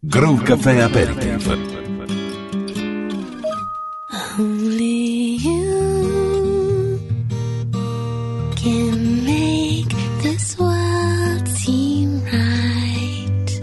Groove Café Aperitif. Only you can make this world seem right.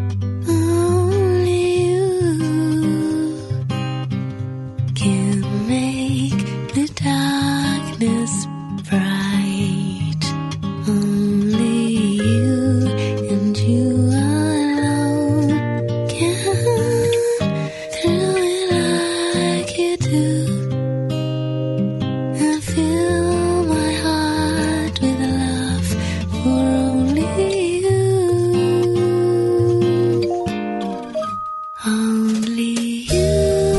Only you can make the darkness bright. Only you and you alone can thrill it like you do, and fill my heart with love for only you. Only you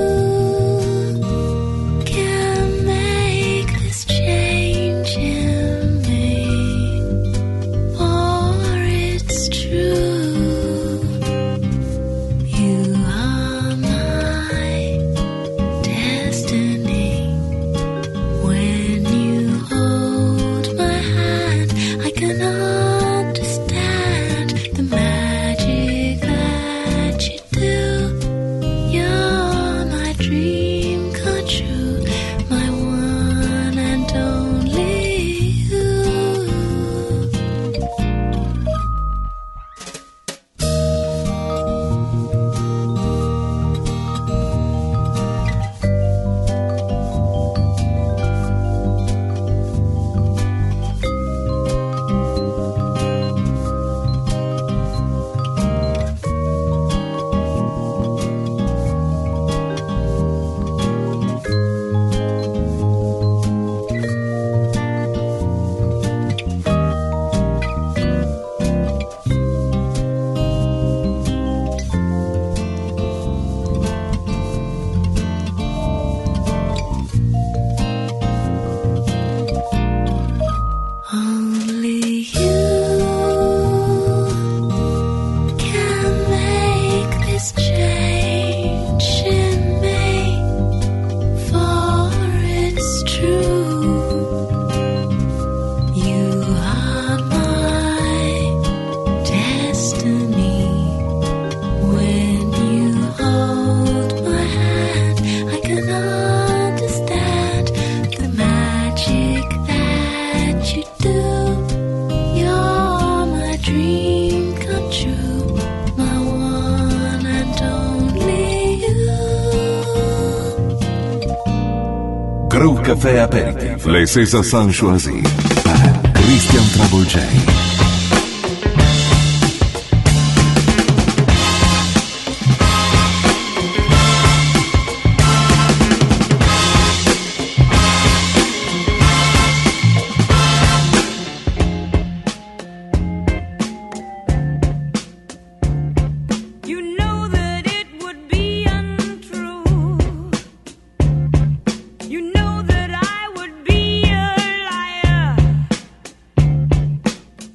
can make this change in me, for it's true. You are my destiny. When you hold my hand, I can understand the magic that you do. You're my dream come true, my one and only you. Only you can make this change in me, for it's true. You are my destiny. When you hold my hand, I can understand the magic that you do. You're my dream come true, my one and only you. Groove Café Aperitif. Les César San choisis par Christian Travolgei. You know that it would be untrue. You know that I would be a liar.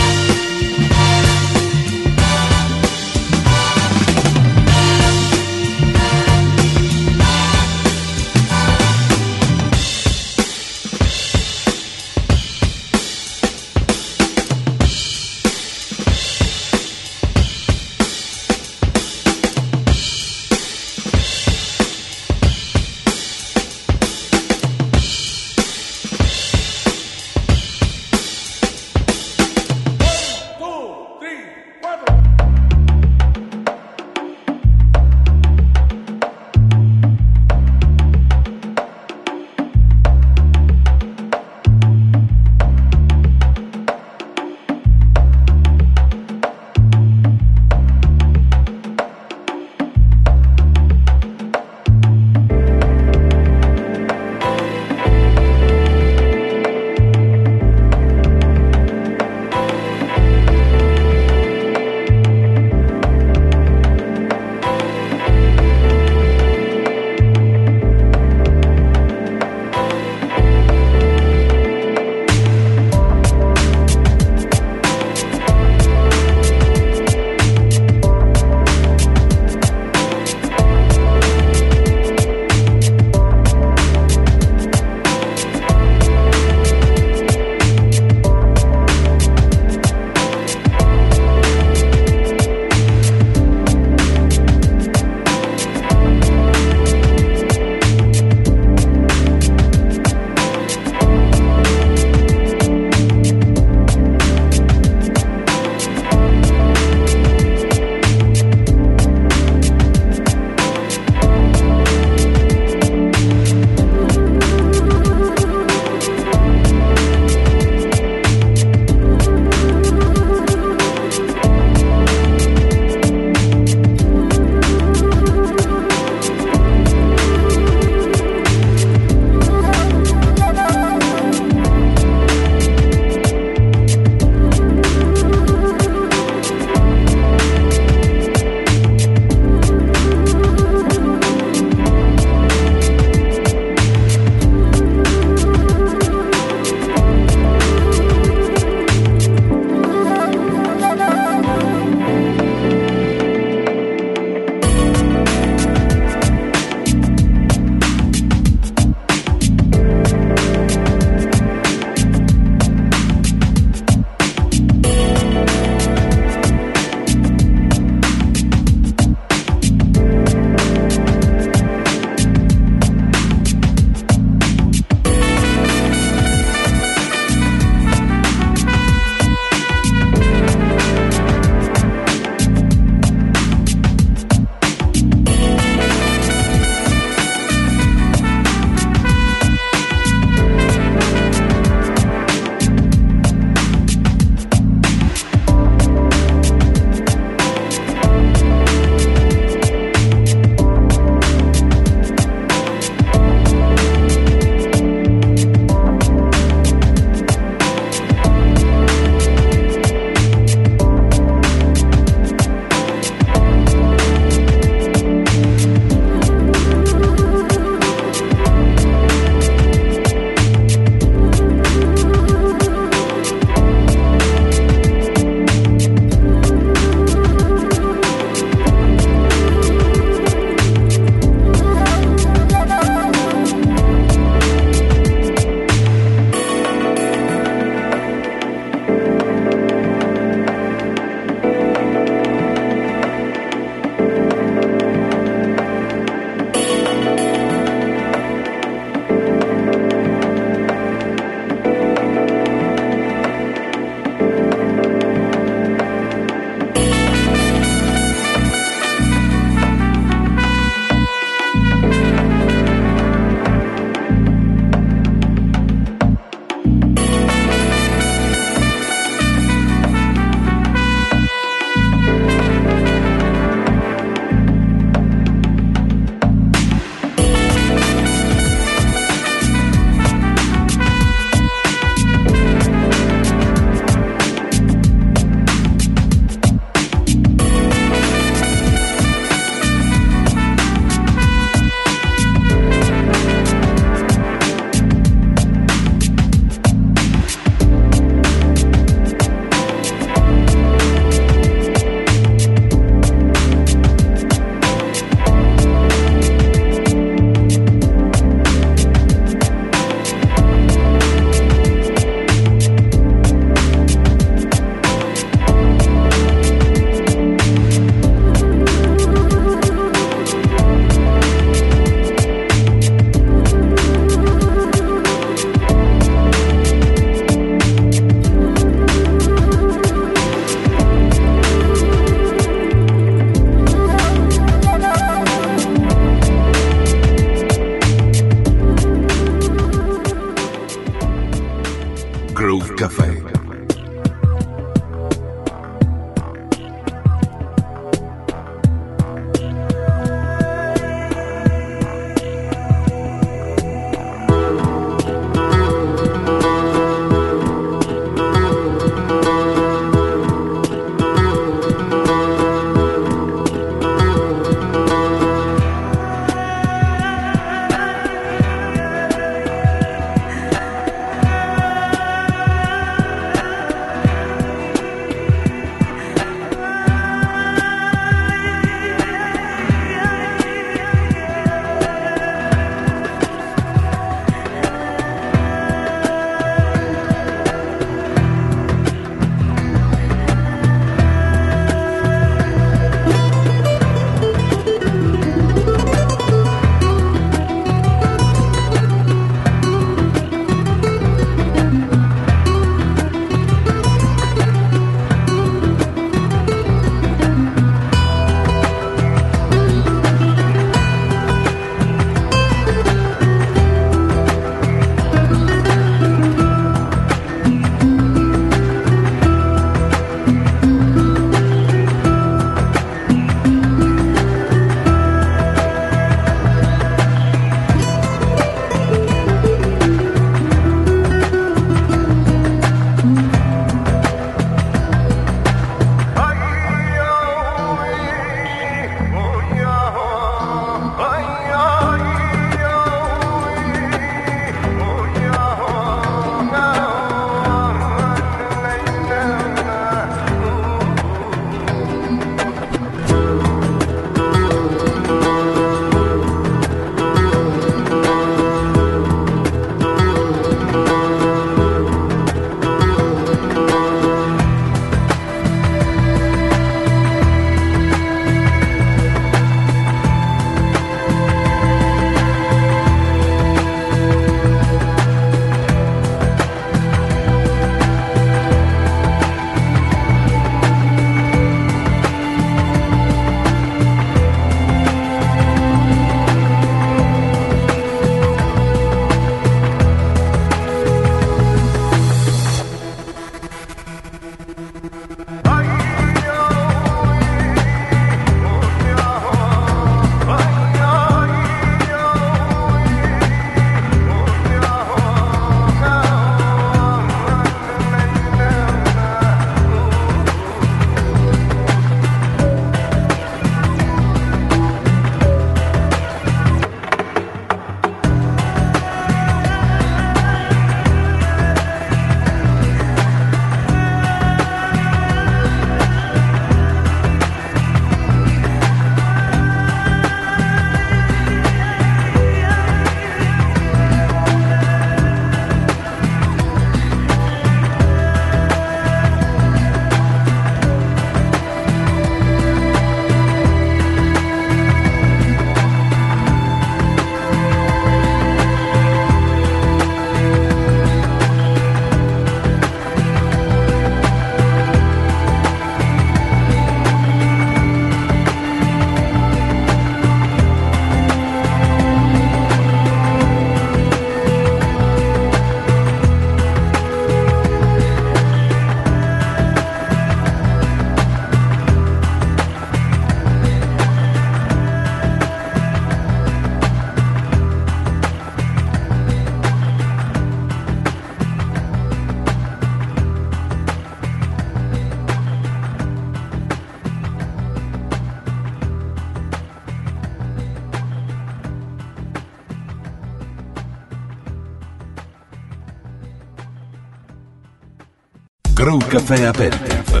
Groove Café Aperitif.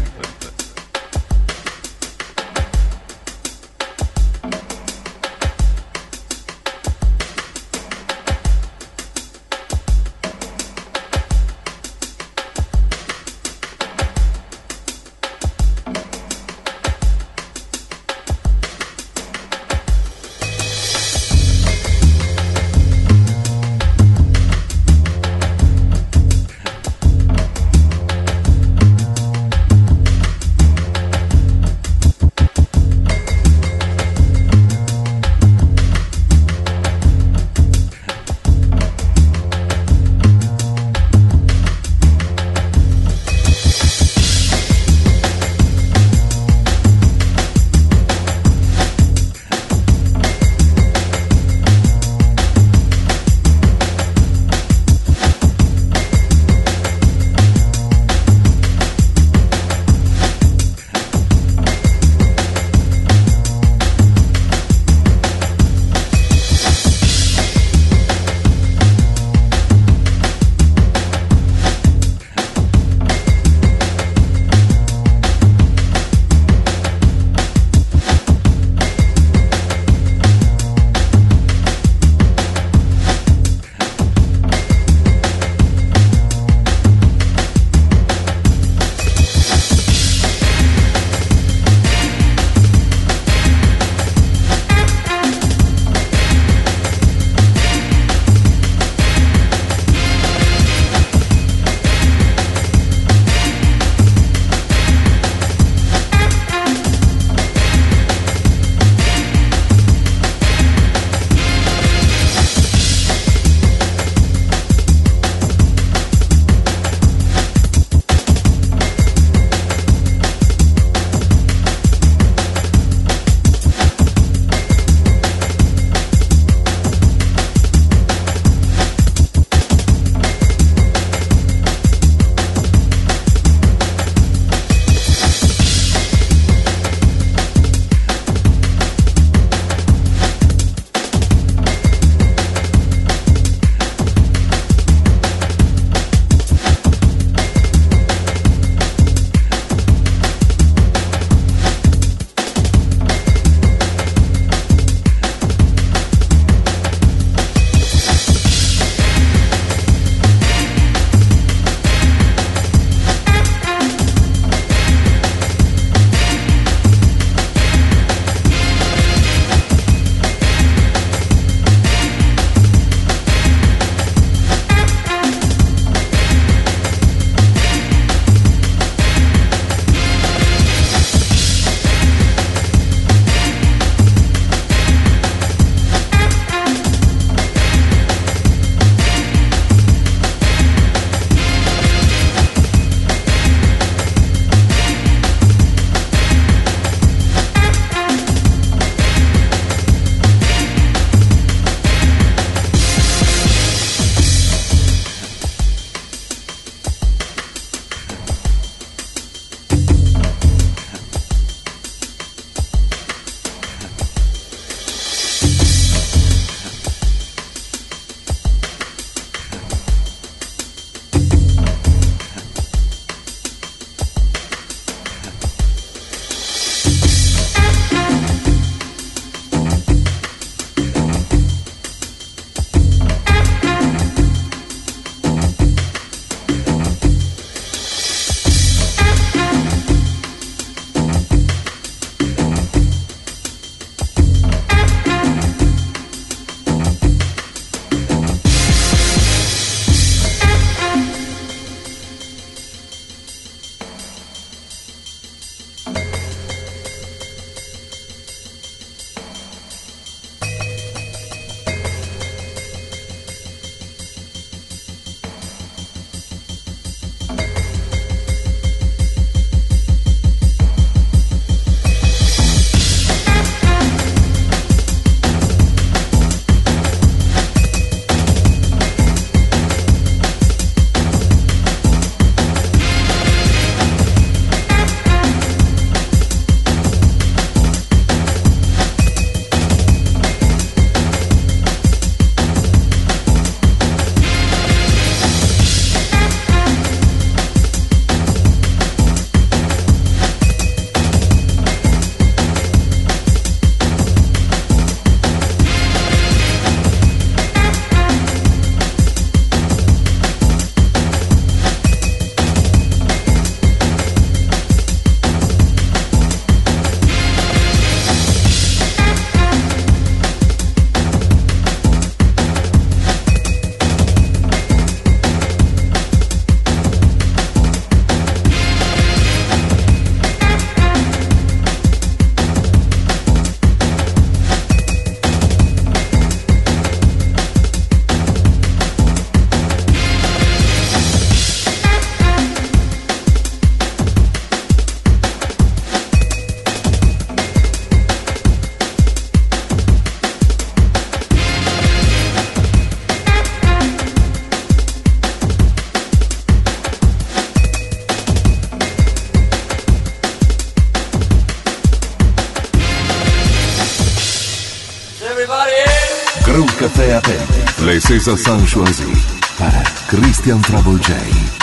Brou Café Aperitif. Les César sont choisis par Christian Trouble J.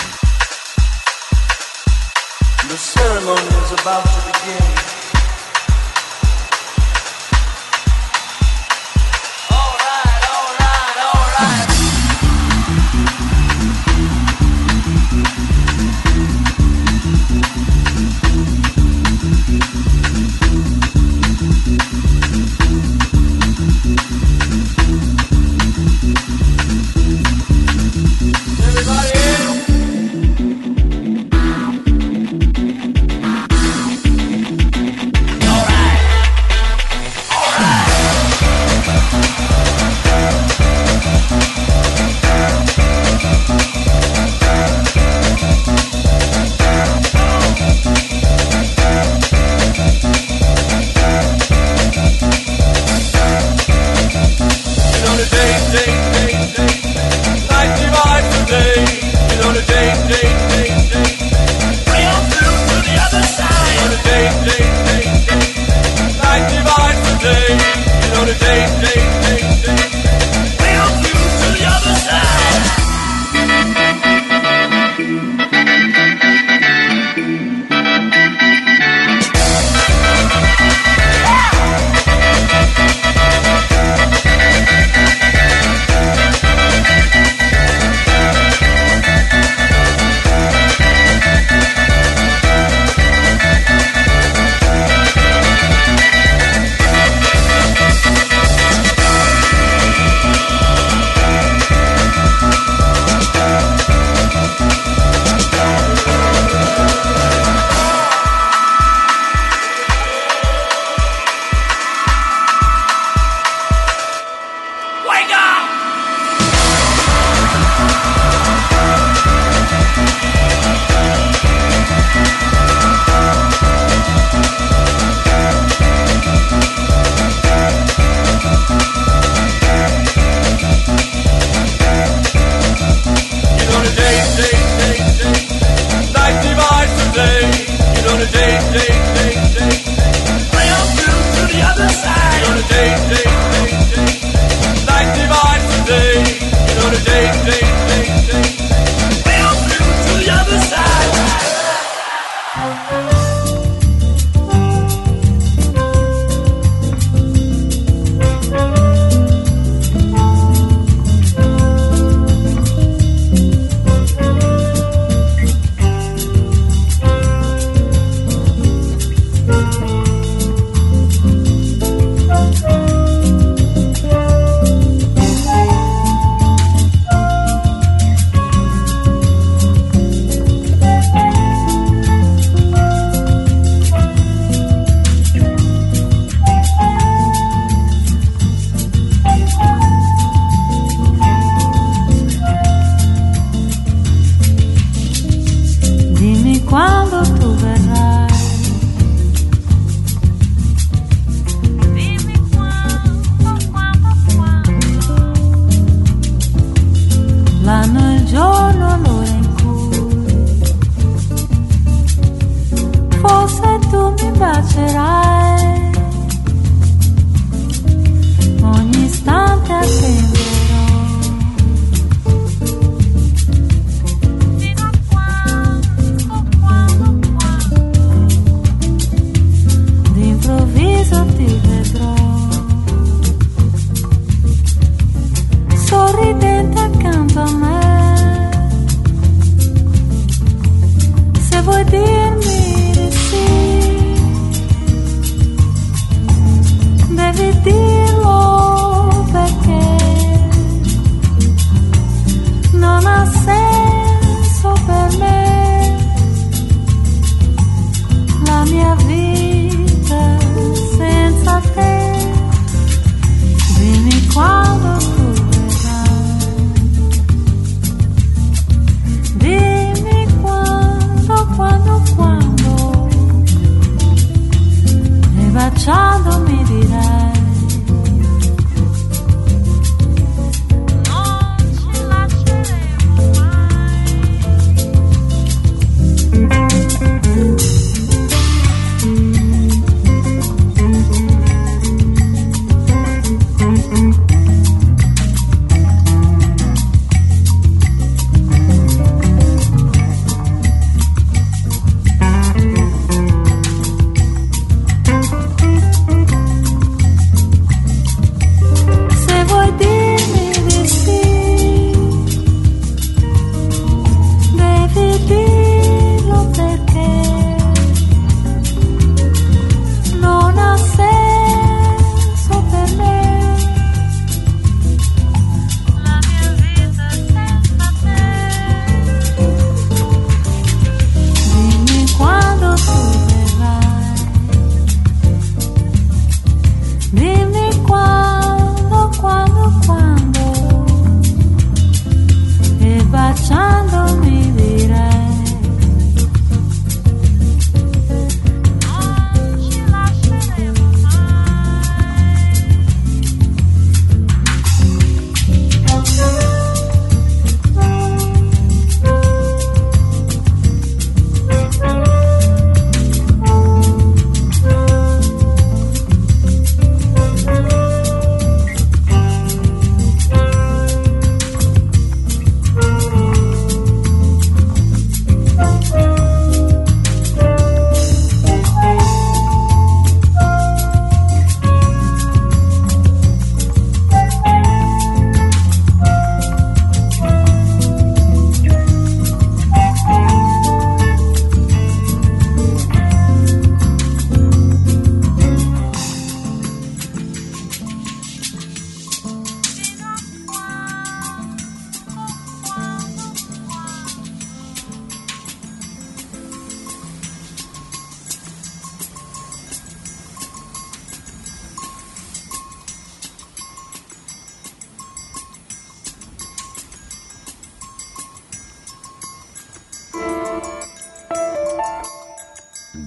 The ceremony is about to begin. All right, all right, all right. Everybody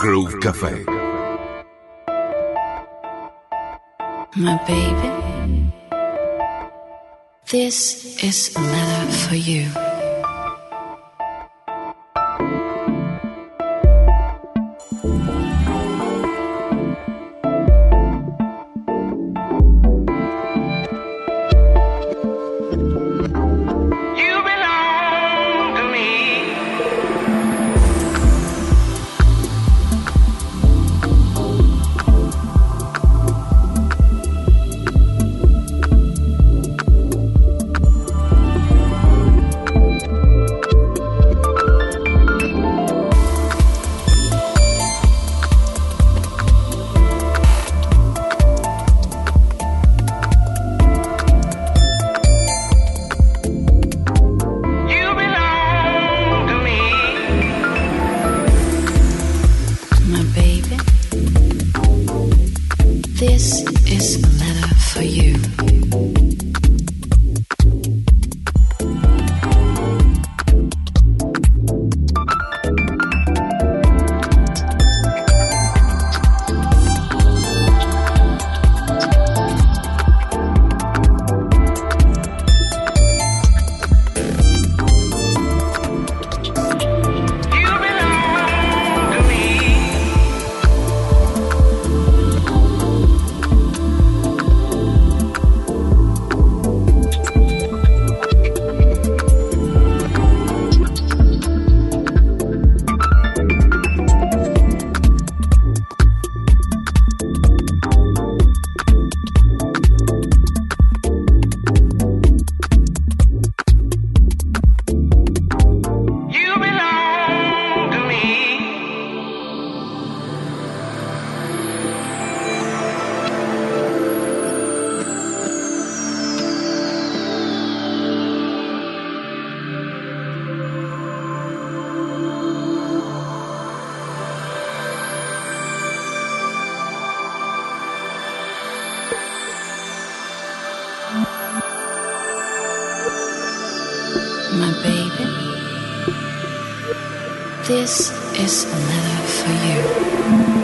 Groove Café. My baby, this is a letter for you. This is a letter for you. My baby, this is a letter for you.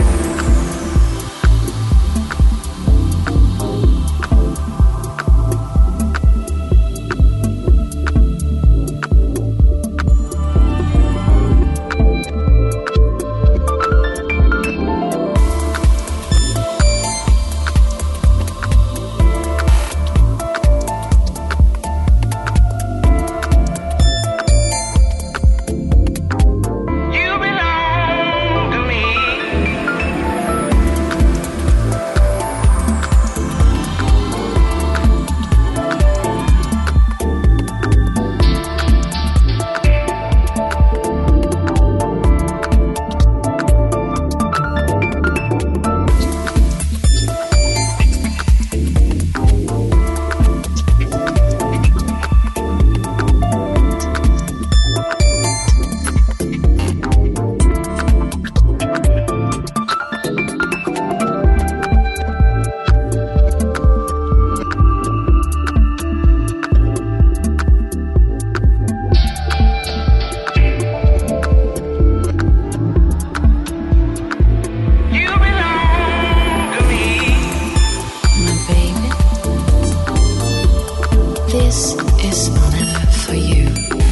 This is a letter for you.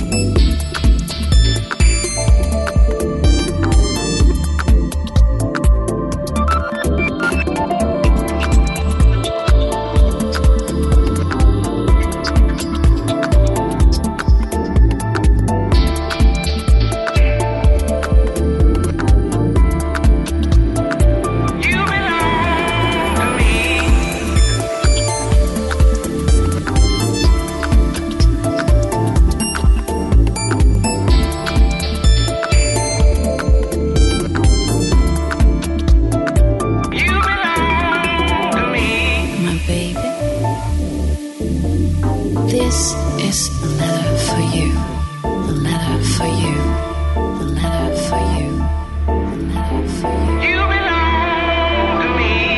This is a letter for you. A letter for you. A letter for you. A letter for you. You belong to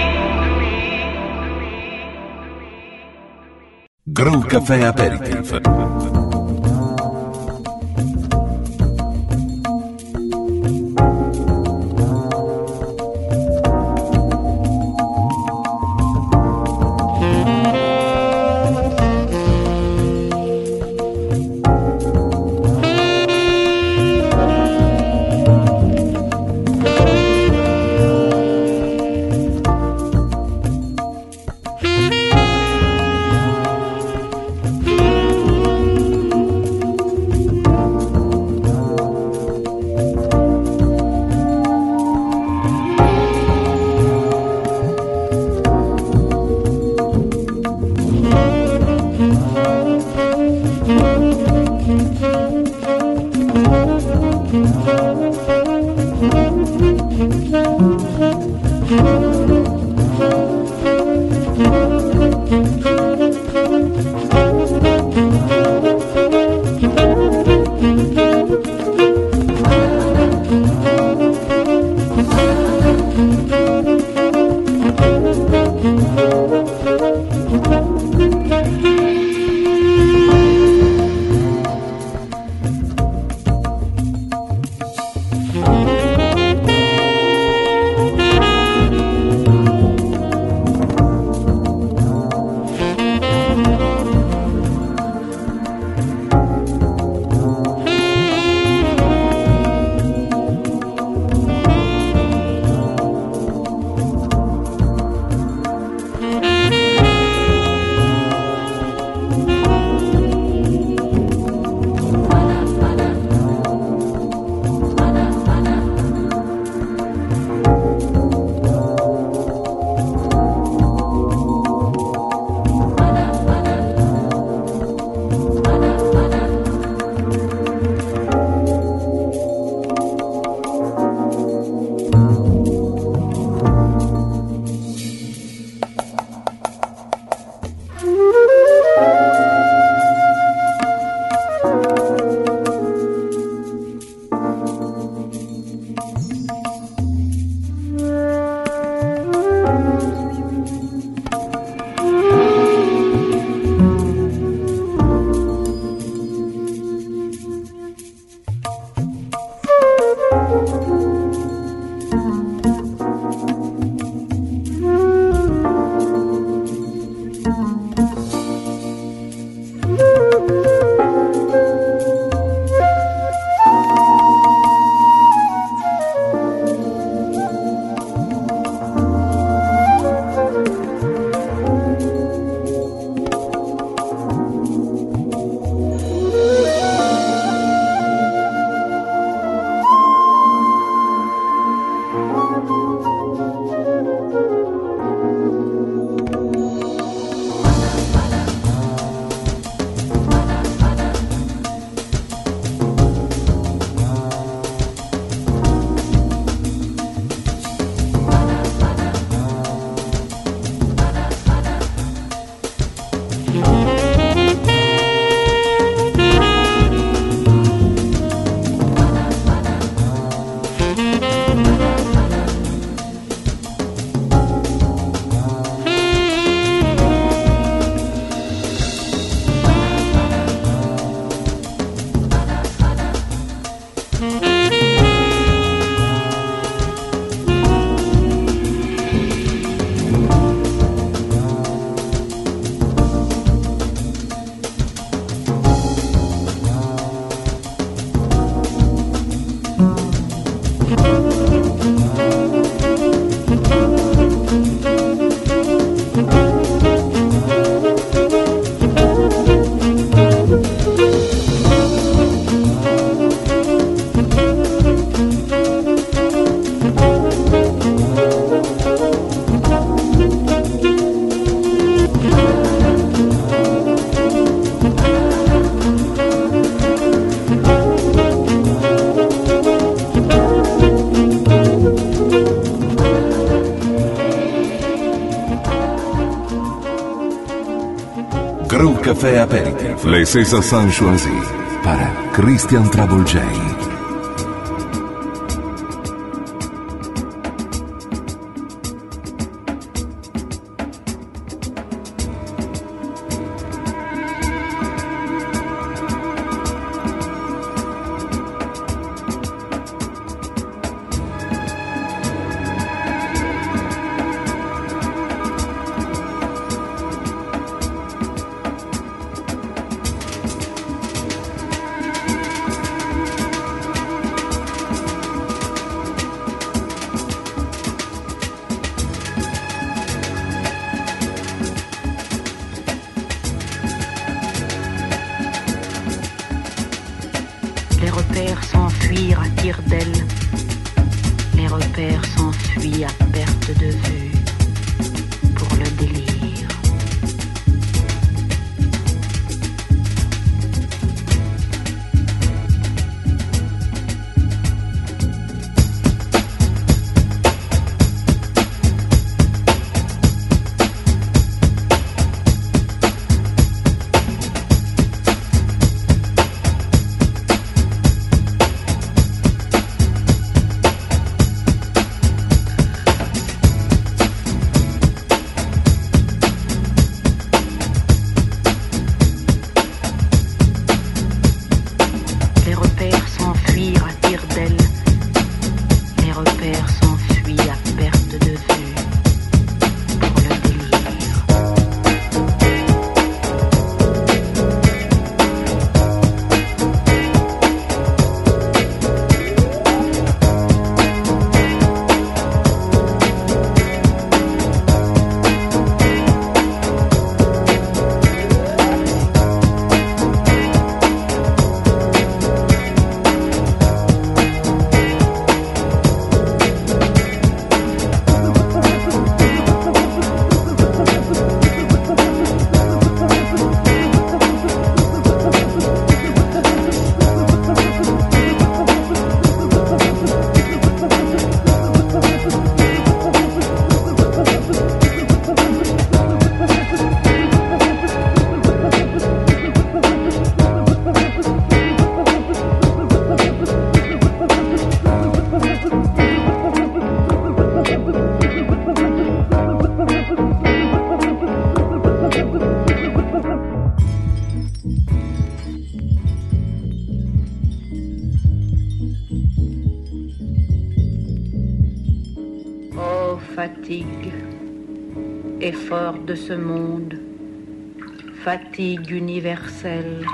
me. Groove Café Aperitif. Crew Café Aperitif. Les Césars choisis para Christian Travolgei. Les repères s'enfuirent à tire-d'aile, les repères s'enfuient à perte de vue, pour le délire. fatigue, effort de ce monde, fatigue universelle.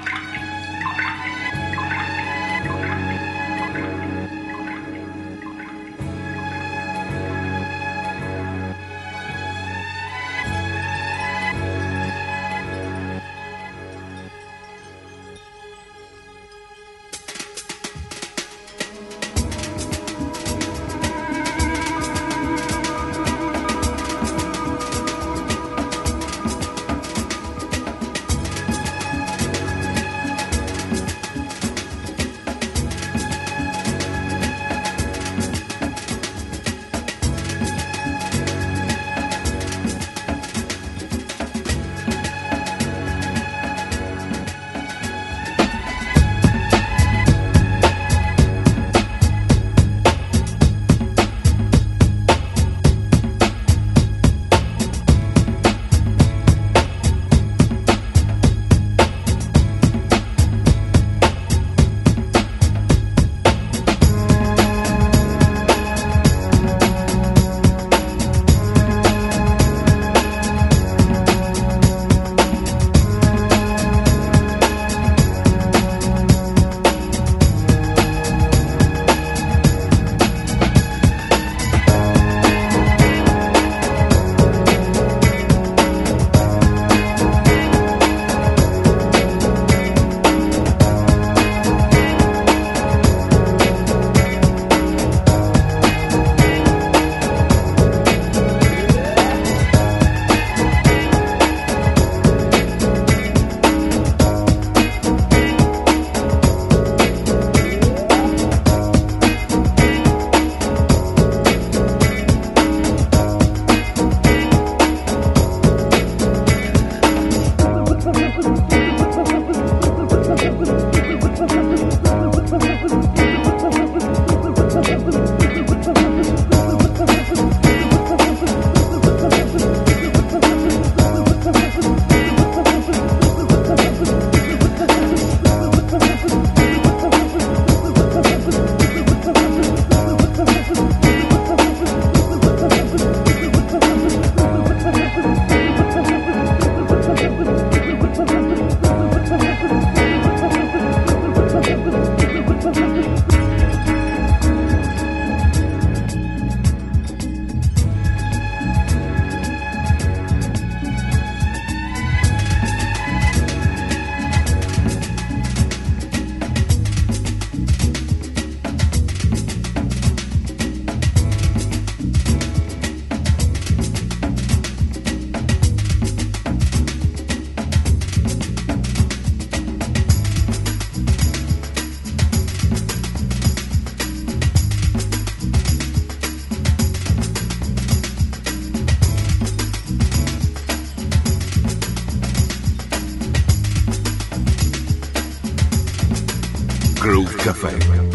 Groove Café.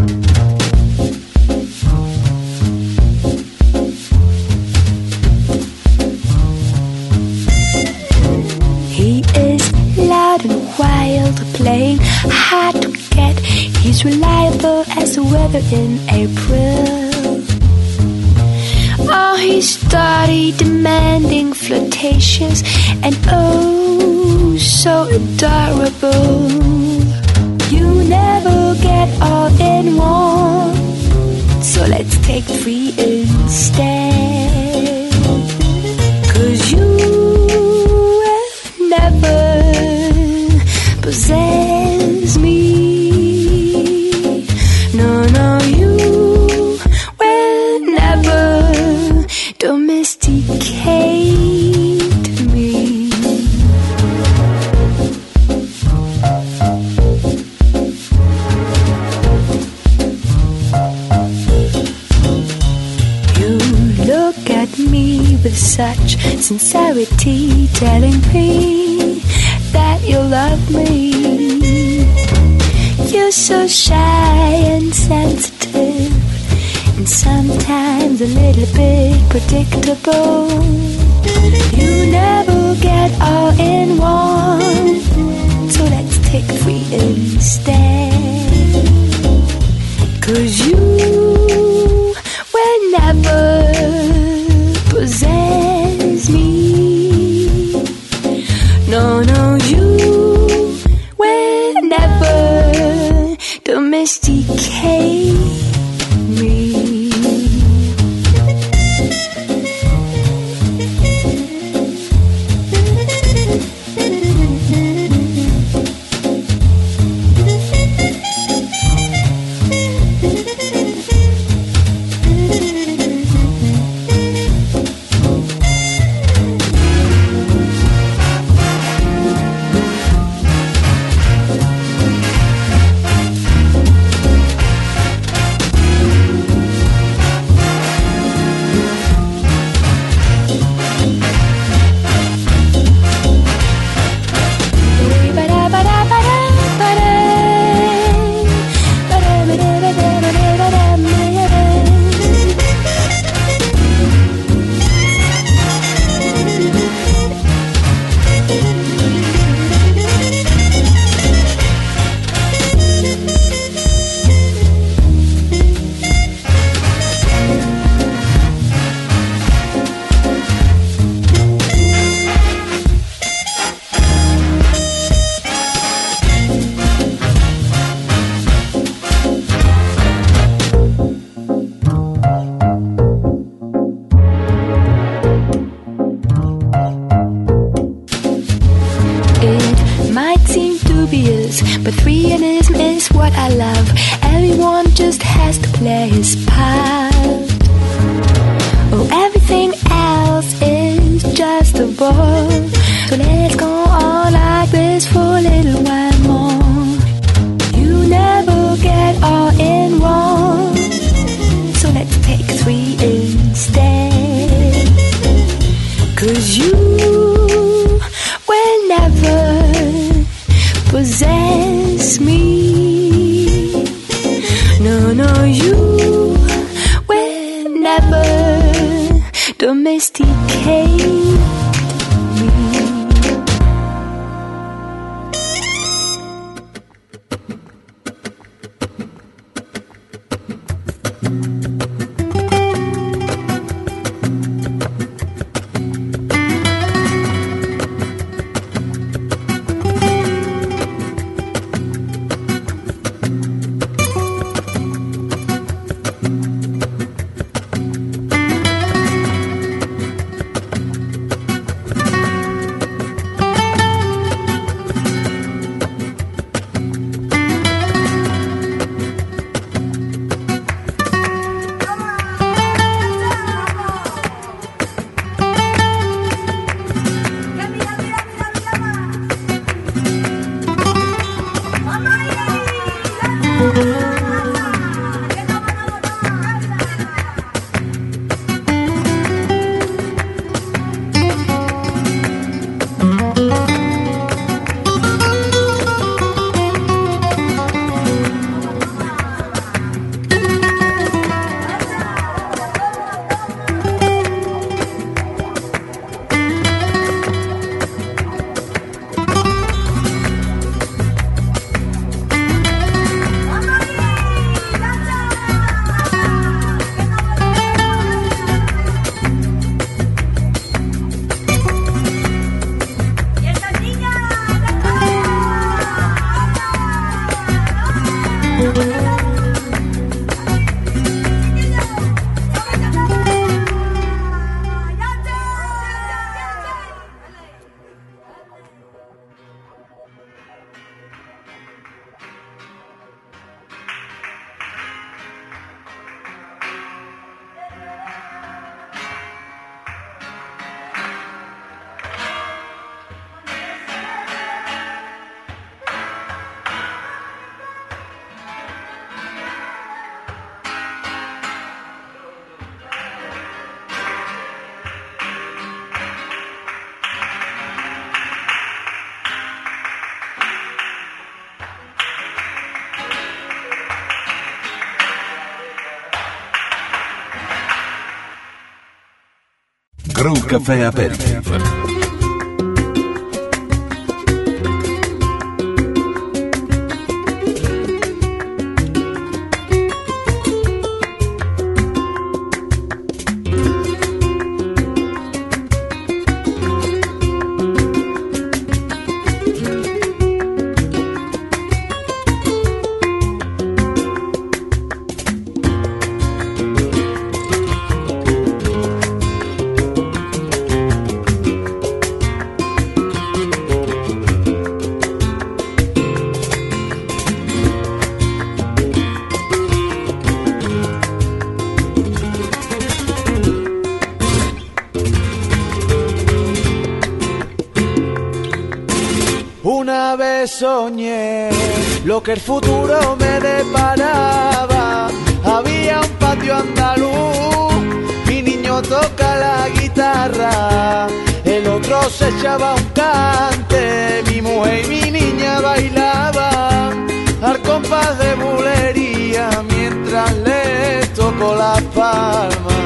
He is loud and wild, playing hard to get. He's reliable as the weather in April. Oh, he's dirty, demanding, flirtatious, and oh, so adorable. You never get all in one, so let's take three instead. 'Cause you will never possess me. No, no, you will never domesticate me. You look at me with such sincerity, telling me that you love me. You're so shy and sensitive, and sometimes a little bit predictable. You never get all in one, so let's take three instead. 'Cause you will never possess No, no, you will never domesticate me. But realism is what I love. Everyone just has to play his part. Oh, everything else is just a bore. So let's go on like this for a little while more. You never get all in wrong, so let's take 3 instead. 'Cause you will never possess me. No, no, you will never domesticate me. Groove Café Aperitif. Una vez soñé lo que el futuro me deparaba. Había un patio andaluz, mi niño toca la guitarra, el otro se echaba un cante, mi mujer y mi niña bailaban al compás de bulería mientras les tocó la palma.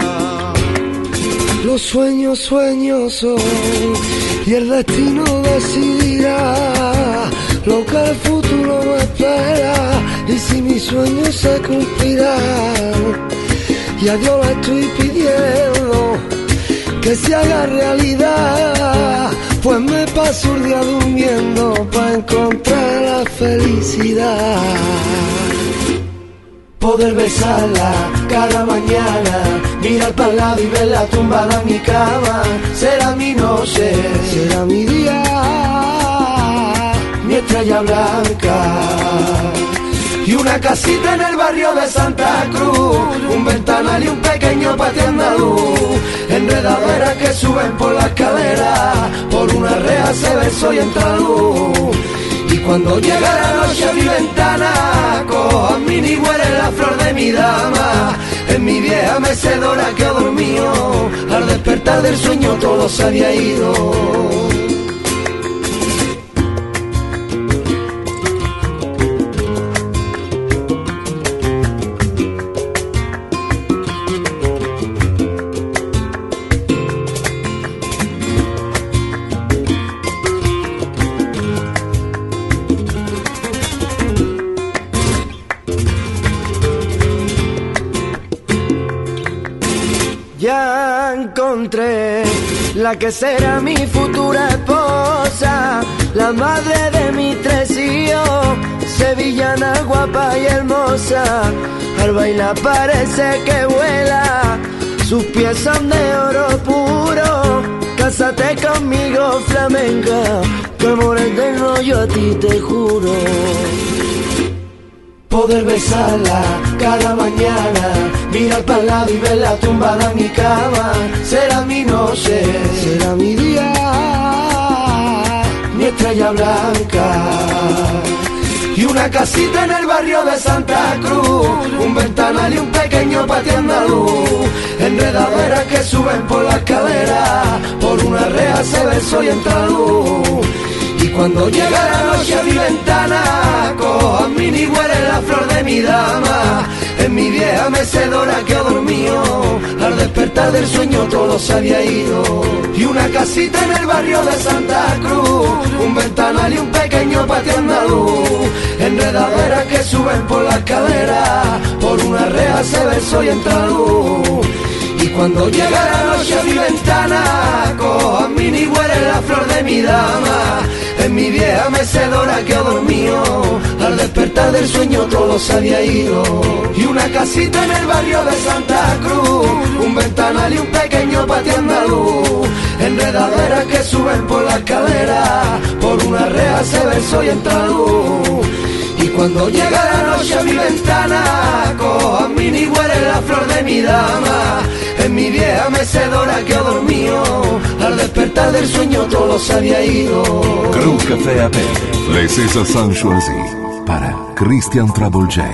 Los sueños, sueños son, y el destino decidirá lo que el futuro me espera, y si mis sueños se cumplirán. Y a Dios le estoy pidiendo que se haga realidad, pues me paso el día durmiendo para encontrar la felicidad. Poder besarla cada mañana, mirar para el lado y verla tumbada en mi cama. Será mi noche, será mi día, mi estrella blanca. Y una casita en el barrio de Santa Cruz, un ventanal y un pequeño patio andaluz, enredaderas que suben por la escalera, por una reja se ve soy entra luz. Y cuando llega la noche a mi ventana, cojo a mi ni huele la flor de mi dama. En mi vieja mecedora quedo dormido, al despertar del sueño todo se había ido. Ya encontré la que será mi futura esposa, la madre de mis tres hijos, sevillana, guapa y hermosa. Al bailar parece que vuela, sus pies son de oro puro. Cásate conmigo, flamenca, que amor eterno yo a ti te juro. Poder besarla cada mañana, mirar para el lado y verla tumbada en mi cama. Será mi noche, será mi día, mi estrella blanca. Y una casita en el barrio de Santa Cruz, un ventanal y un pequeño patio andaluz, enredaderas que suben por la escalera, por una reja se ve soy entra luz. Y cuando llega la noche a mi ventana, cojo a mi ni huele la flor de mi dama. En mi vieja mecedora quedo dormido, al despertar del sueño todo se había ido. Y una casita en el barrio de Santa Cruz, un ventanal y un pequeño patio andaluz, enredaderas que suben por la escalera, por una reja se ve soy entra luz. Y cuando llega la noche a mi ventana, cojo a mi ni huele la flor de mi dama. En mi vieja mecedora quedo dormido, al despertar del sueño todo se había ido. Y una casita en el barrio de Santa Cruz, un ventanal y un pequeño patio andaluz, enredaderas que suben por la escalera, por una reja se ve soy entra luz. Y cuando llega la noche a mi ventana, cojo a mi ni huele la flor de mi dama. En mi vieja mecedora quedo dormido, al despertar del sueño todo se había ido. Crew Café Aperitif, les César Sanchoisi para Christian Trouble J.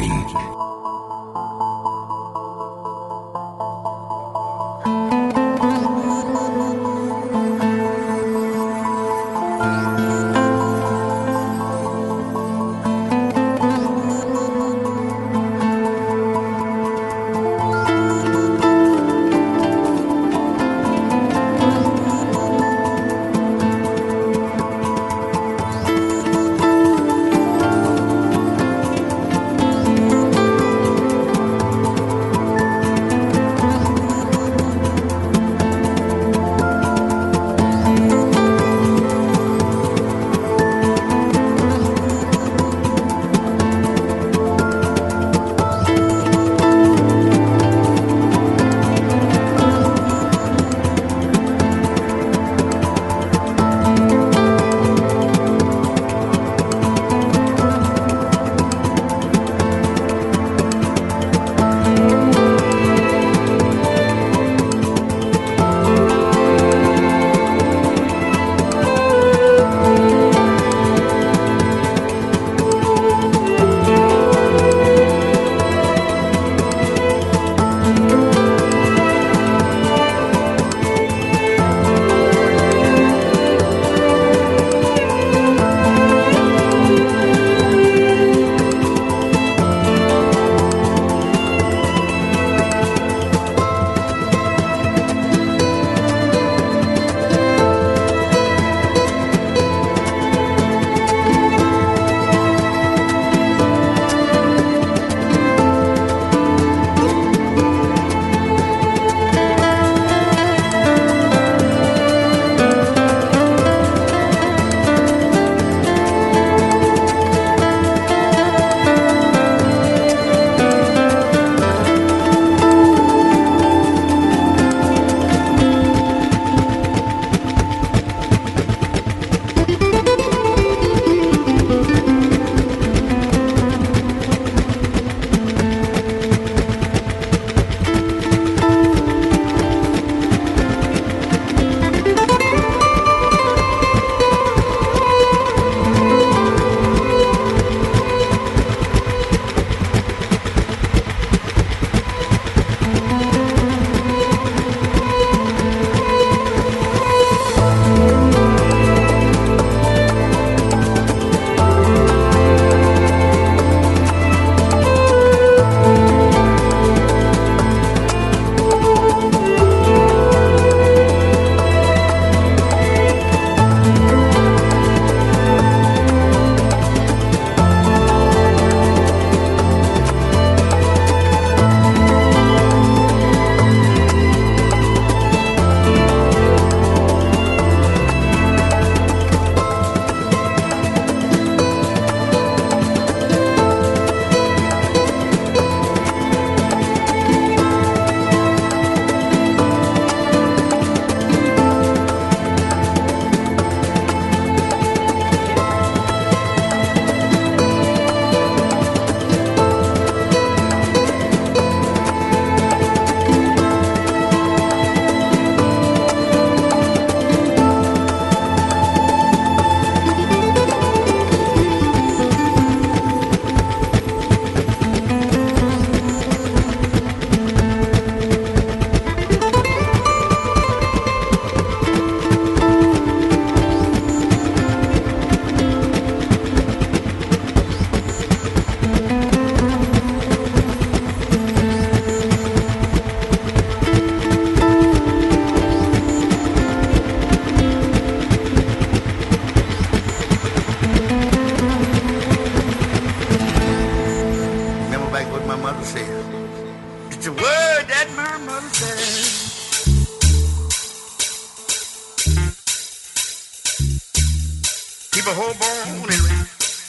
Keep a whole bone and rest.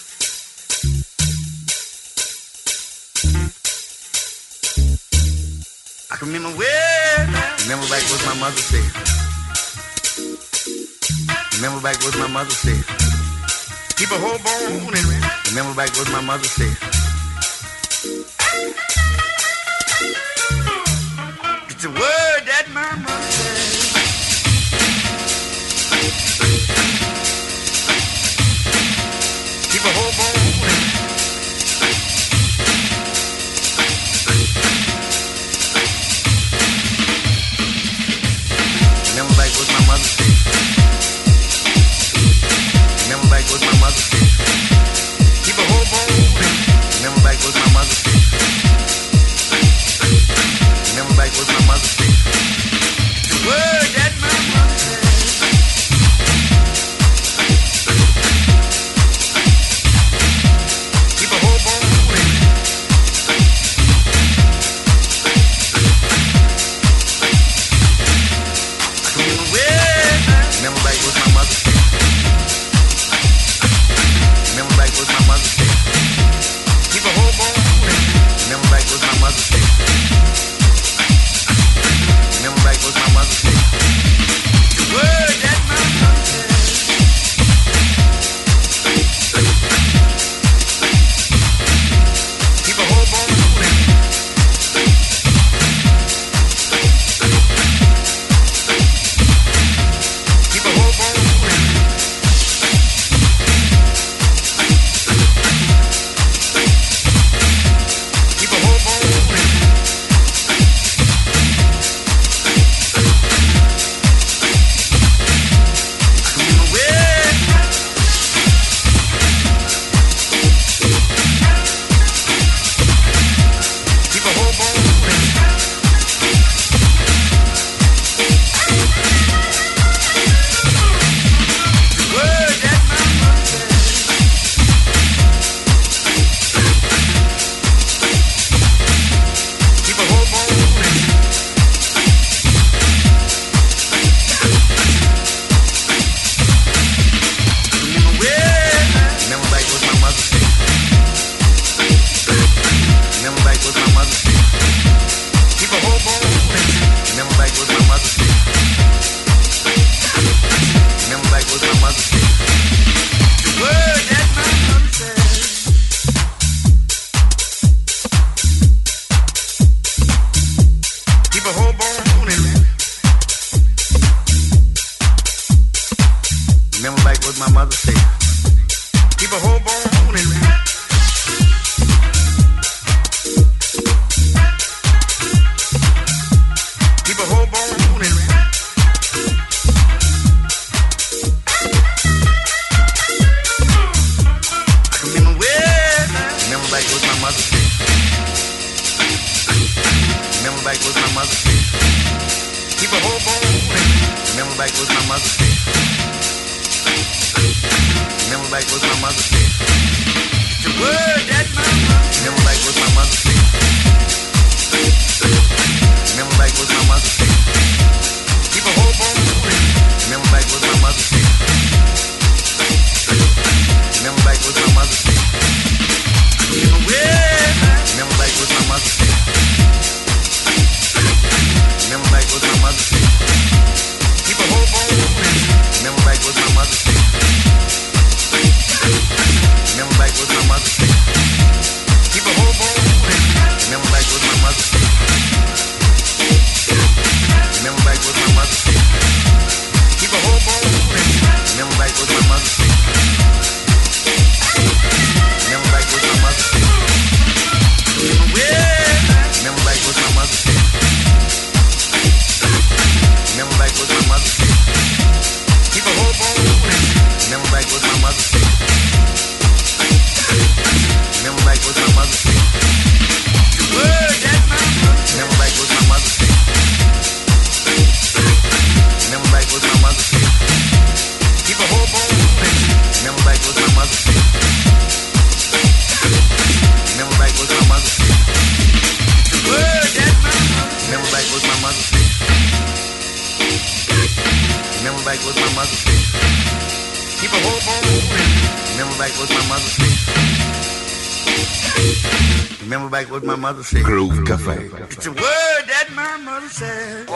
I can remember remember back what my mother said. Remember back what my mother said. Keep a whole bone and rest. Remember back what my mother said. It's a word that my mother said. Keep a whole bone and rest. Remember back what my mother said. Remember back what my mother said. Keep a whole bone. Remember back what my mother said. Remember back what my mother said. The word that my mother said. Keep a whole bone. Remember back what my mother said. Remember back what my mother said. Keep a whole bone. Remember back what my mother said. Remember back what my mother said. The word that my mother said. Keep a whole bone. Keep a whole bone. back what my mother said. Remember back what my mother said. Groove Café. It's a word that my mother said.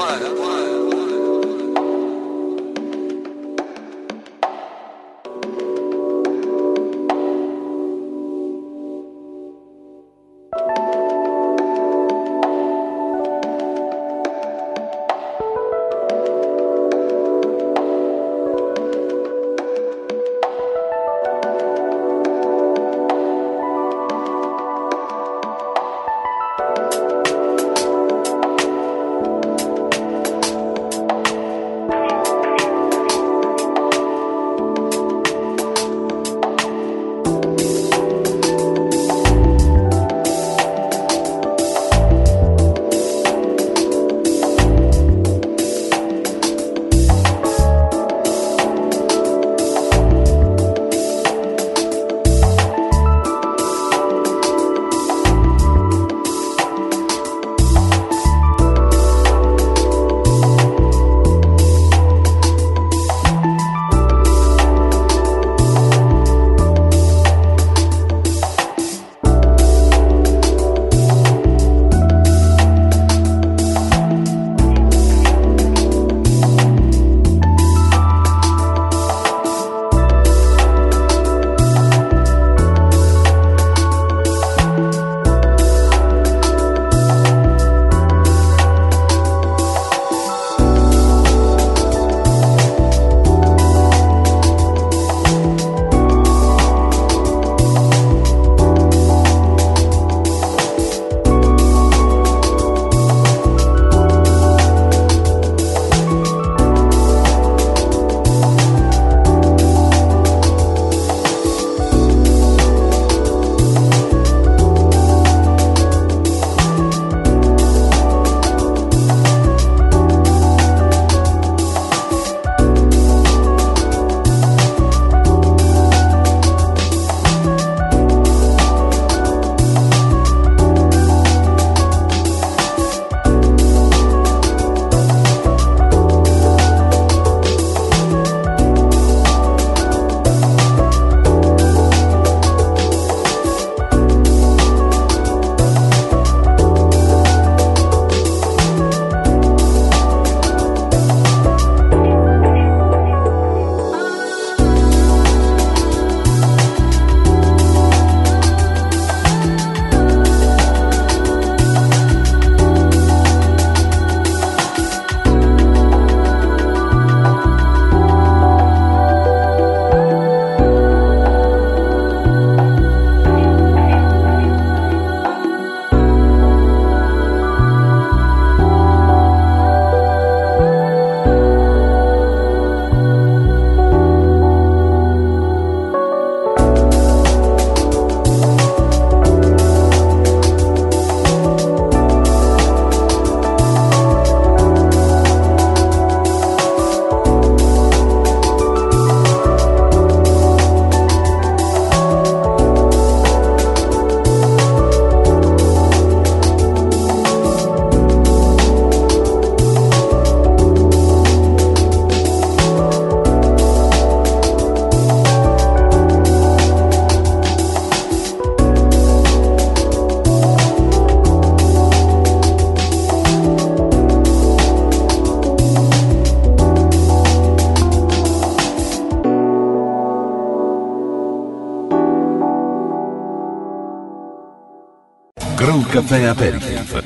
Groove Café Aperitif.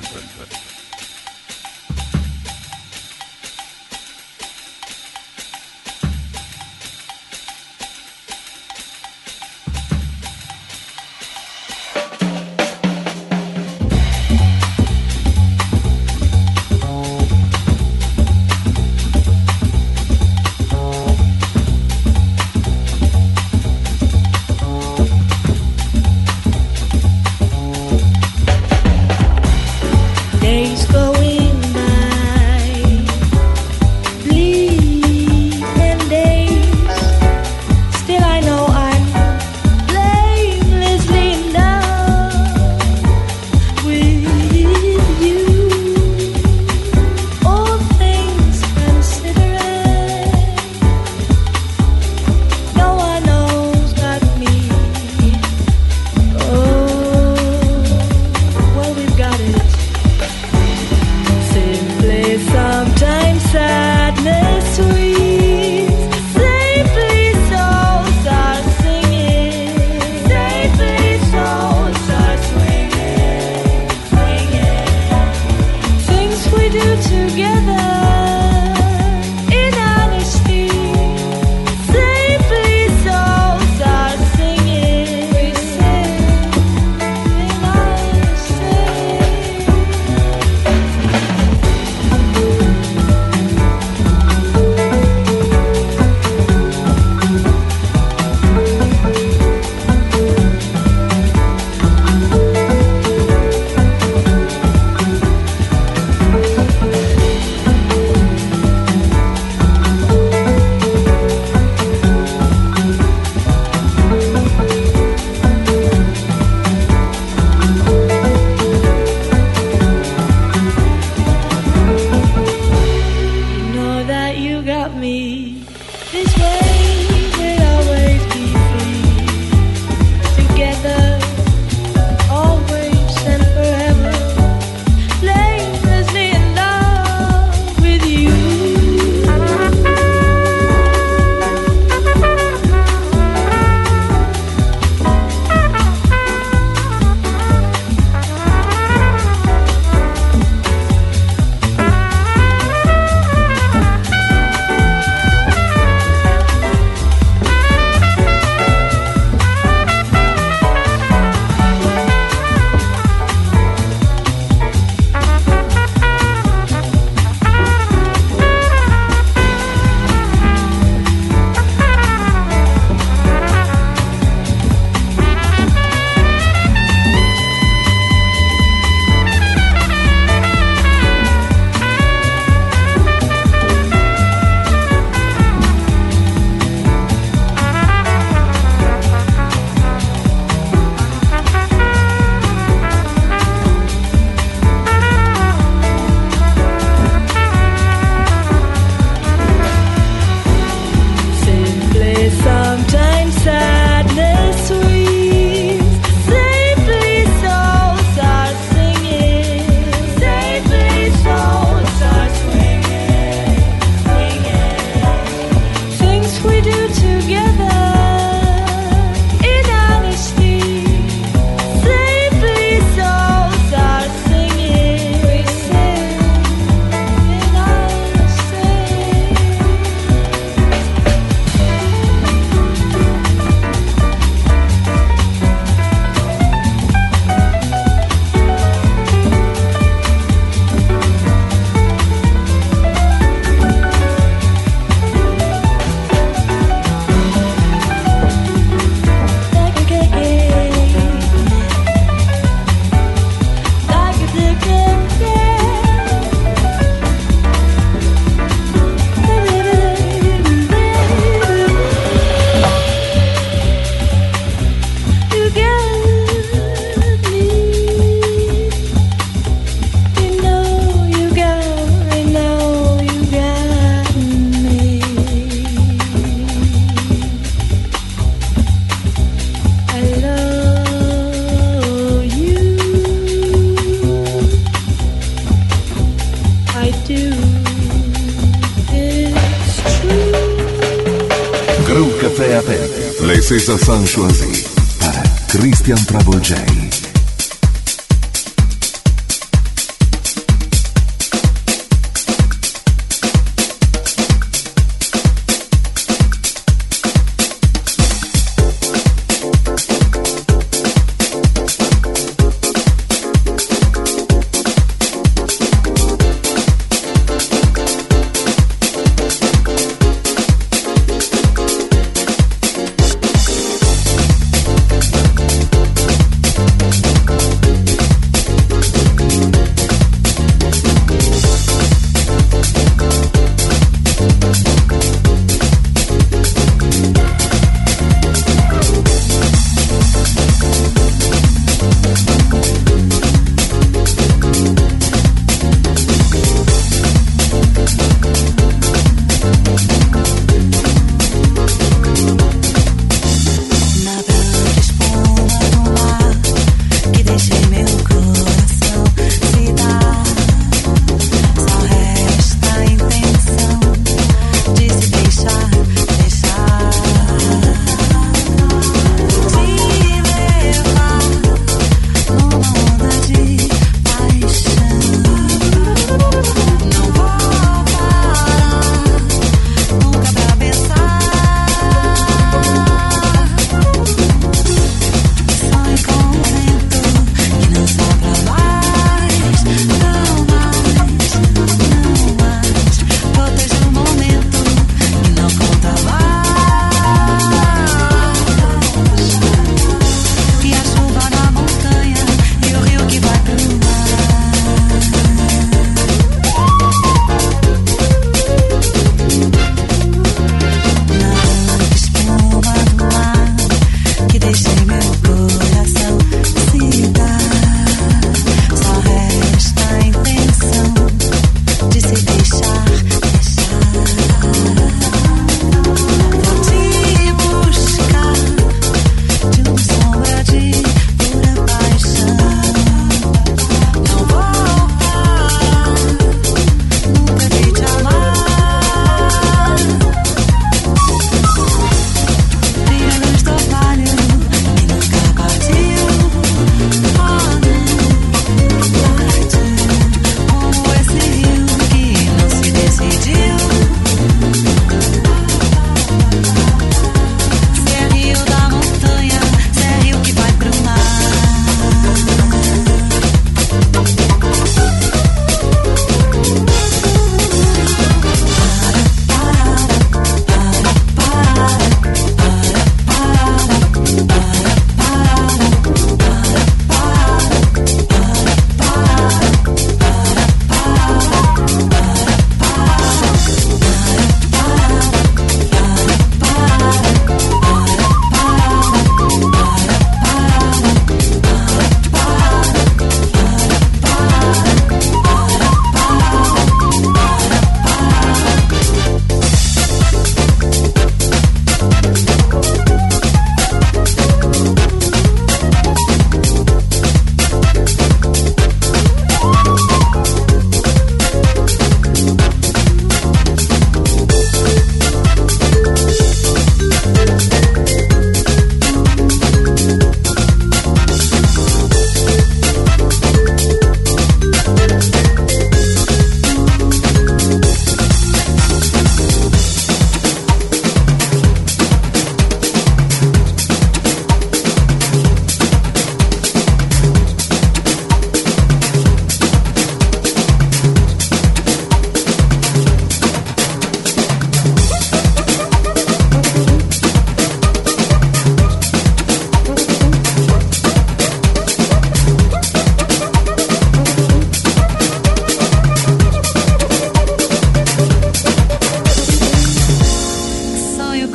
Café Aperti, les César choisis para Christian Travolgei.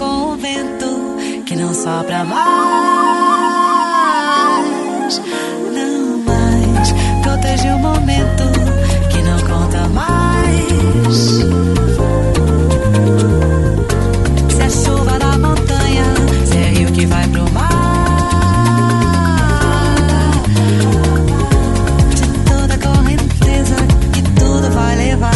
com o vento que não sopra mais, não mais. Protege o momento que não conta mais. Se é chuva na montanha, se é rio que vai pro mar, de toda a correnteza que tudo vai levar.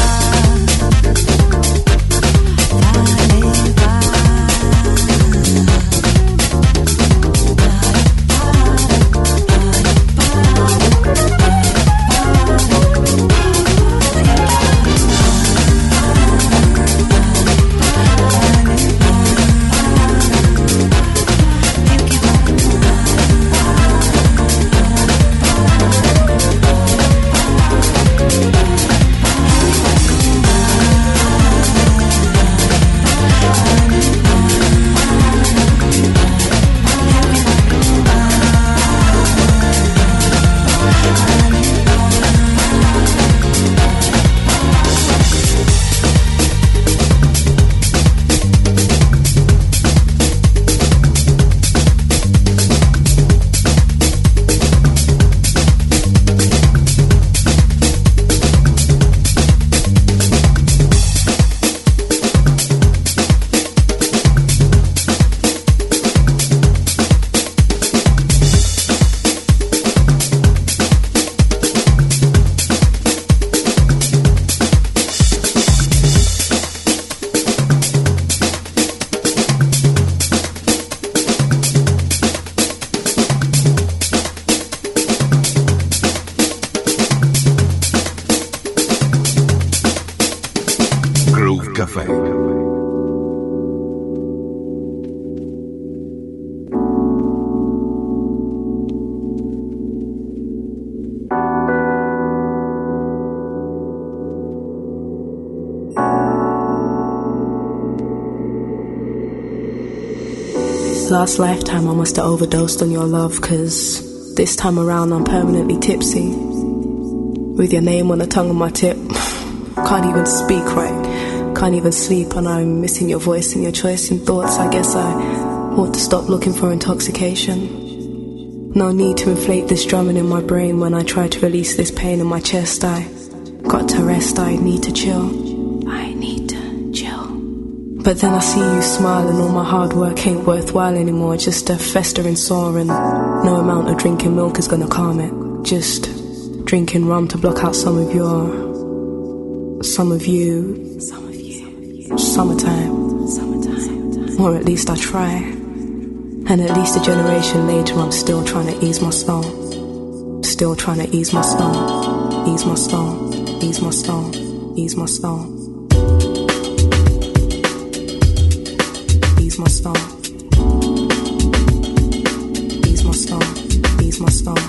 Café. Last lifetime I must have overdosed on your love, 'cause this time around I'm permanently tipsy, with your name on the tongue of my tip. Can't even speak right, can't even sleep, and I'm missing your voice and your choice in thoughts. I guess I ought to stop looking for intoxication. No need to inflate this drumming in my brain when I try to release this pain in my chest. I got to rest, I need to chill. I need to chill. But then I see you smile and all my hard work ain't worthwhile anymore. Just a festering sore, and no amount of drinking milk is gonna calm it. Just drinking rum to block out some of you, summertime. Or at least I try. And at least a generation later I'm still trying to ease my stone. Still trying to ease my stone. Ease my stone. Ease my stone. Ease my stone. Ease my stone. Ease my stone. Ease my stone.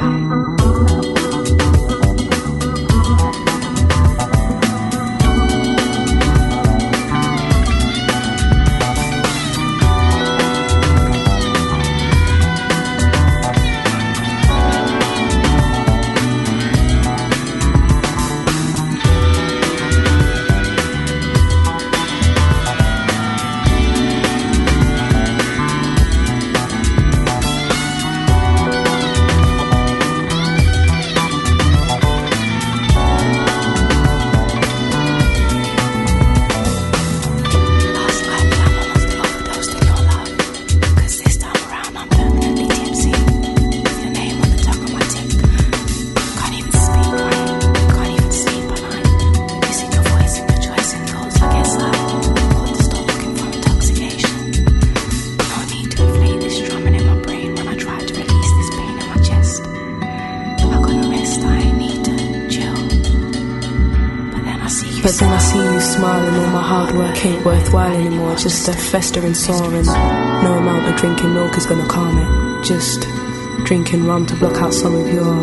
But then I see you smiling, all my hard work ain't worthwhile anymore. Just a festering sore, and no amount of drinking milk is gonna calm it. Just drinking rum to block out some of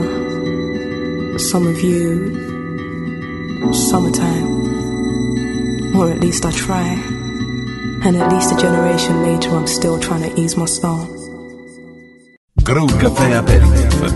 you summertime. Or at least I try. And at least a generation later I'm still trying to ease my soul. Groove Café Aperitif.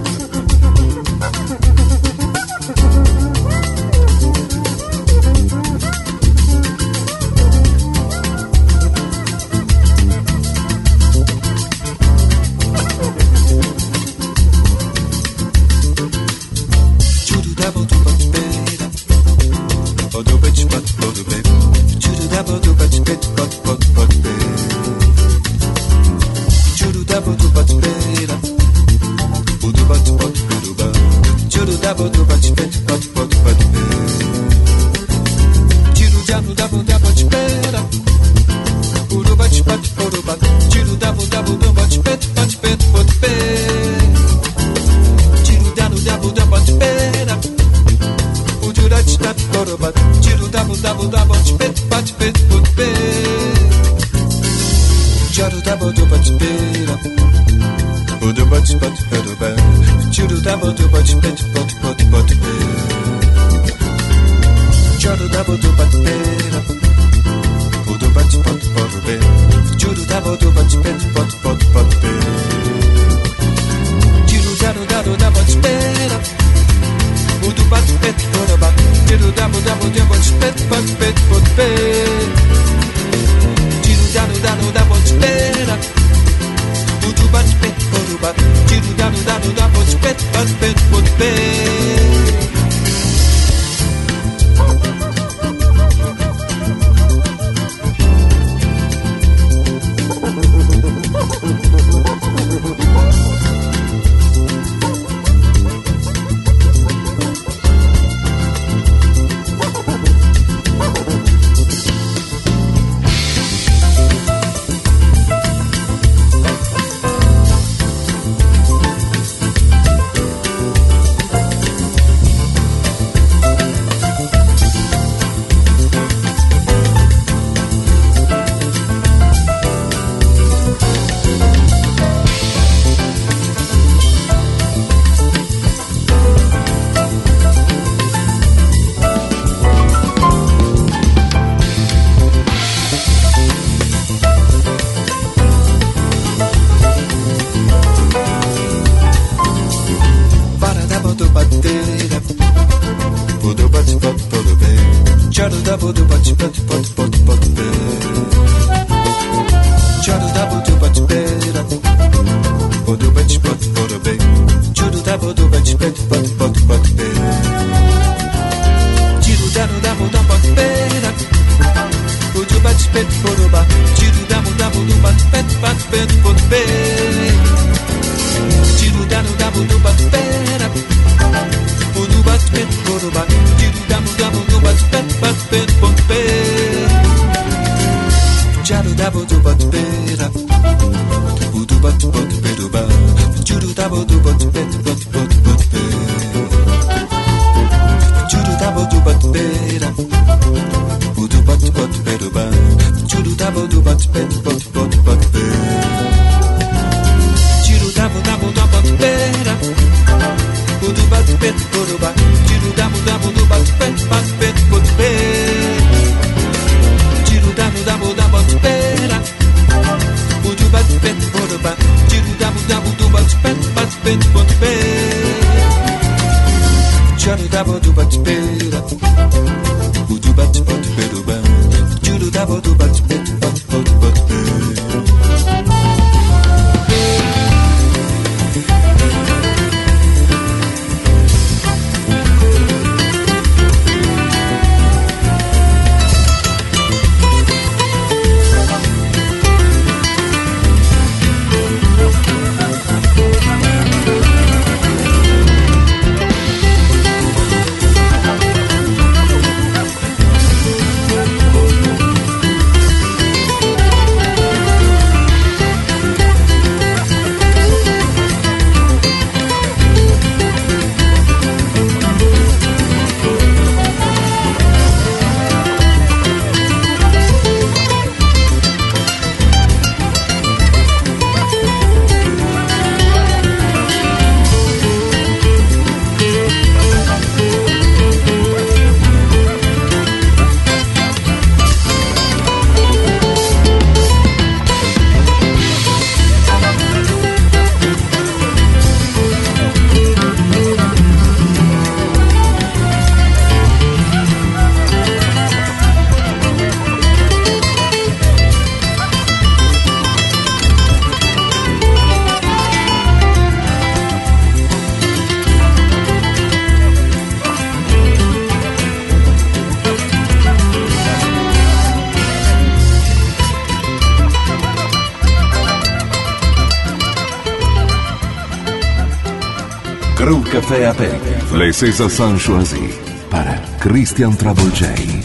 Crew Café Aperitif, les César choisis para Christian Travolgei.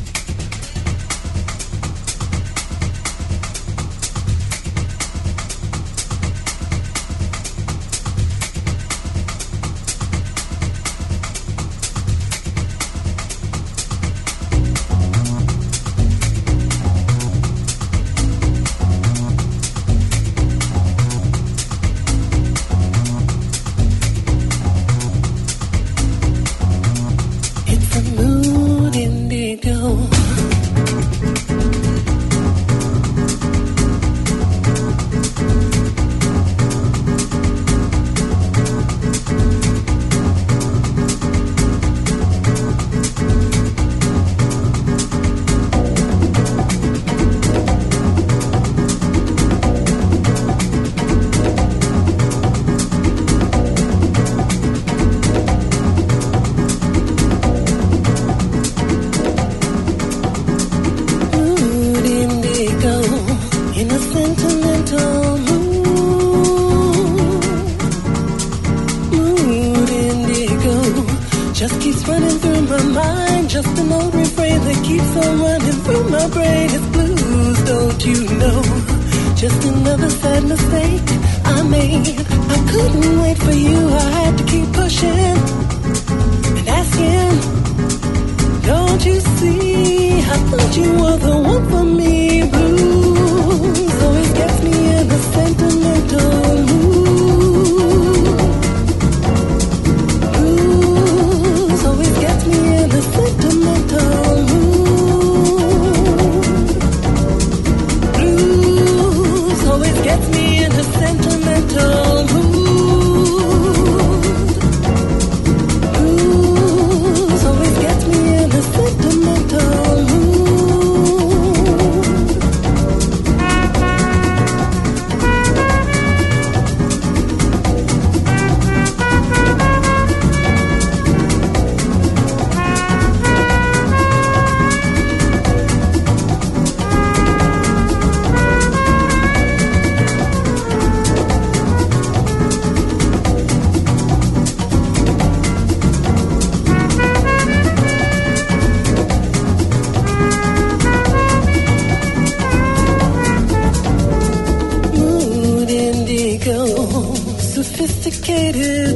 Sophisticated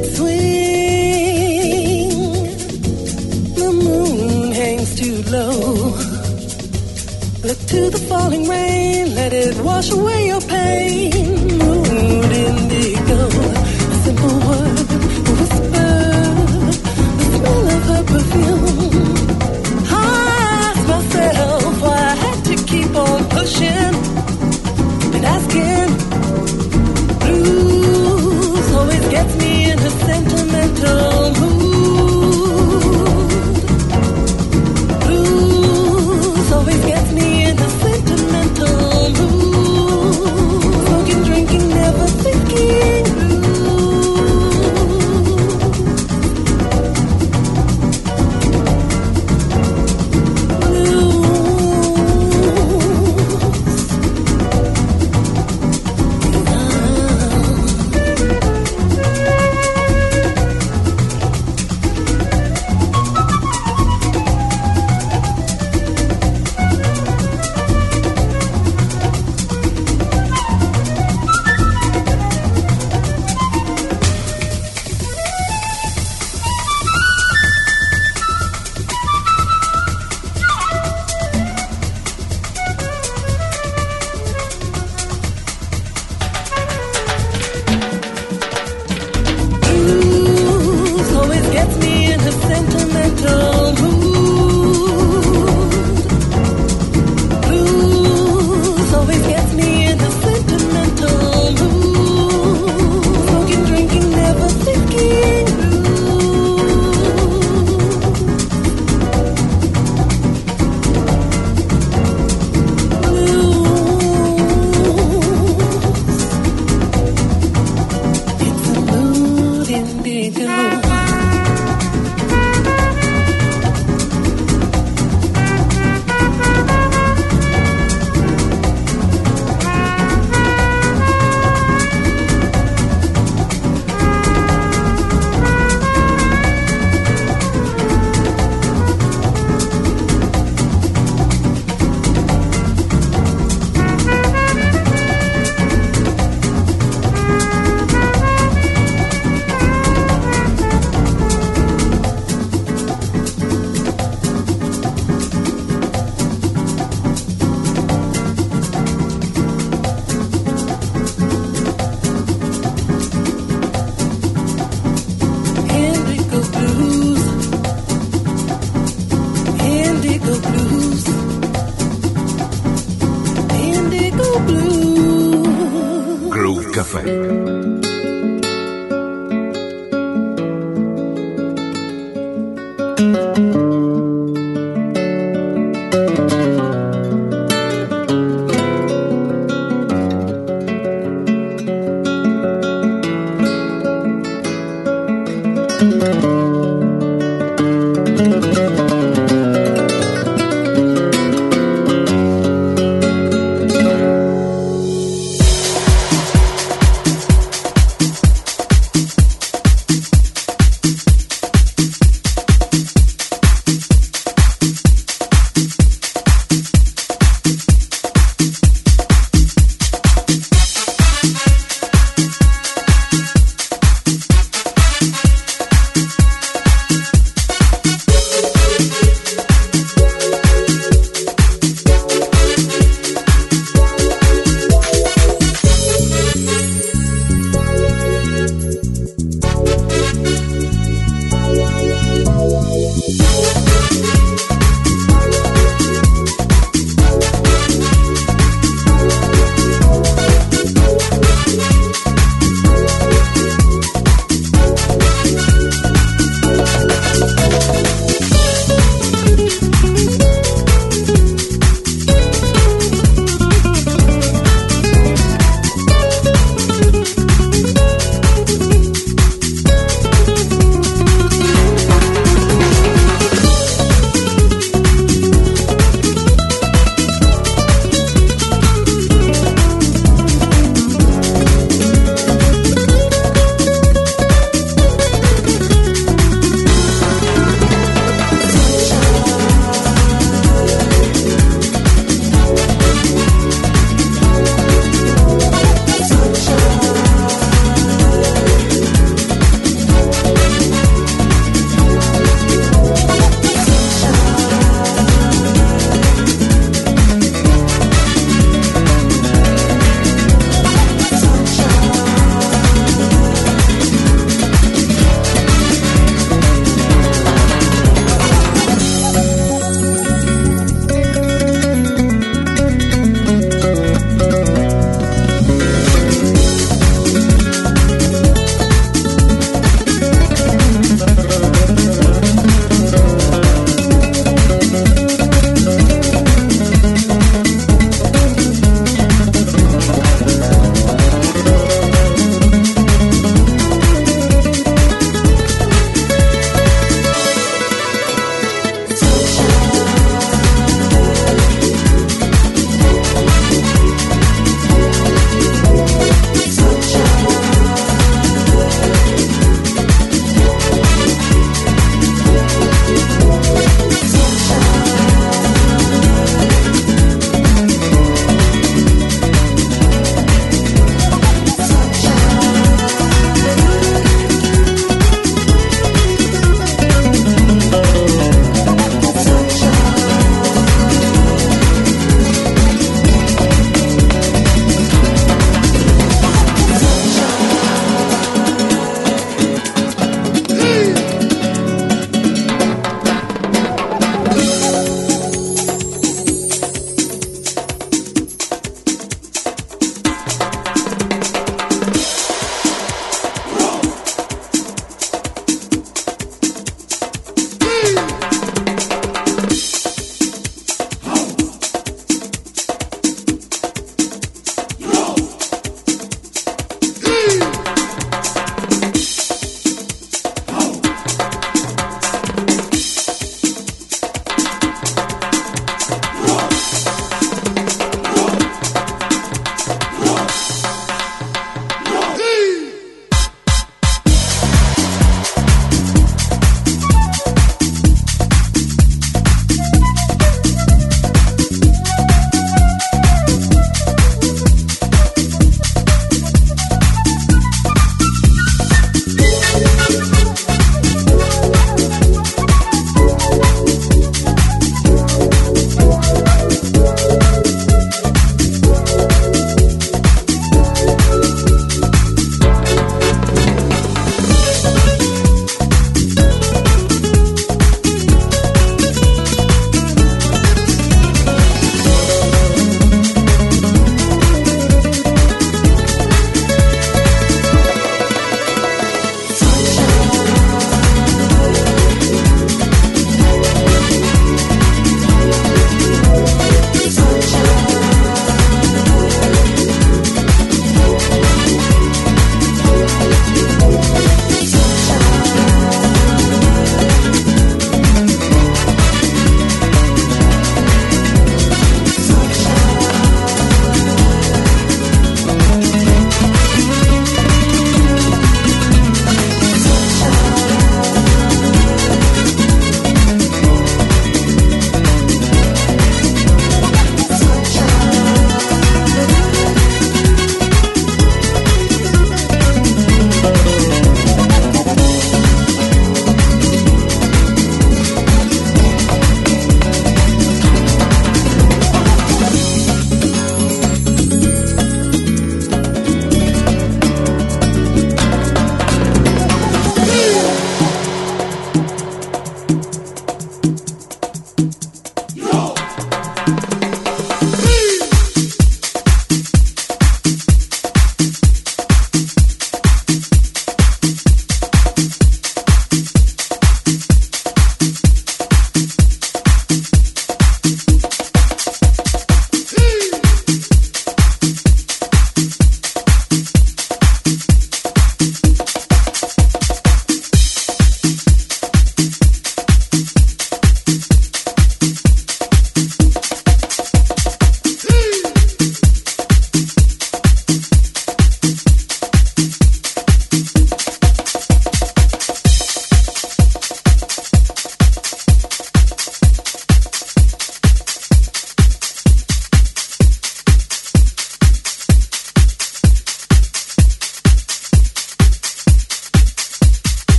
swing. The moon hangs too low. Look to the falling rain, let it wash away your pain. Mood indigo, a simple word, a whisper gets me in a sentimental mood. Blues always gets me in a sentimental mood. Smoking, drinking, never thinking Groove Café.